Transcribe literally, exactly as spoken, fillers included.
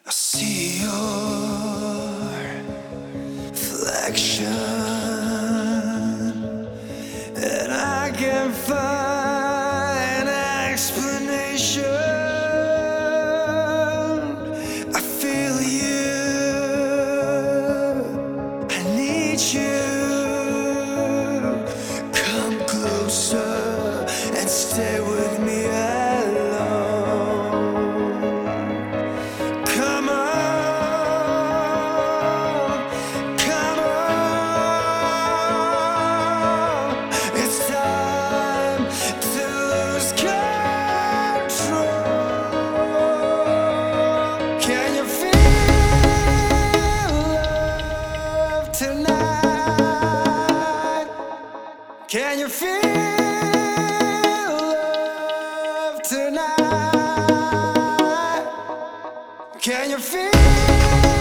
I see your reflection, and I can't find an explanation. I feel you, I need you. Come closer and stay with me alone. Come on, come on. It's time to lose control. Can you feel love tonight? Can you feel love tonight? Can you feel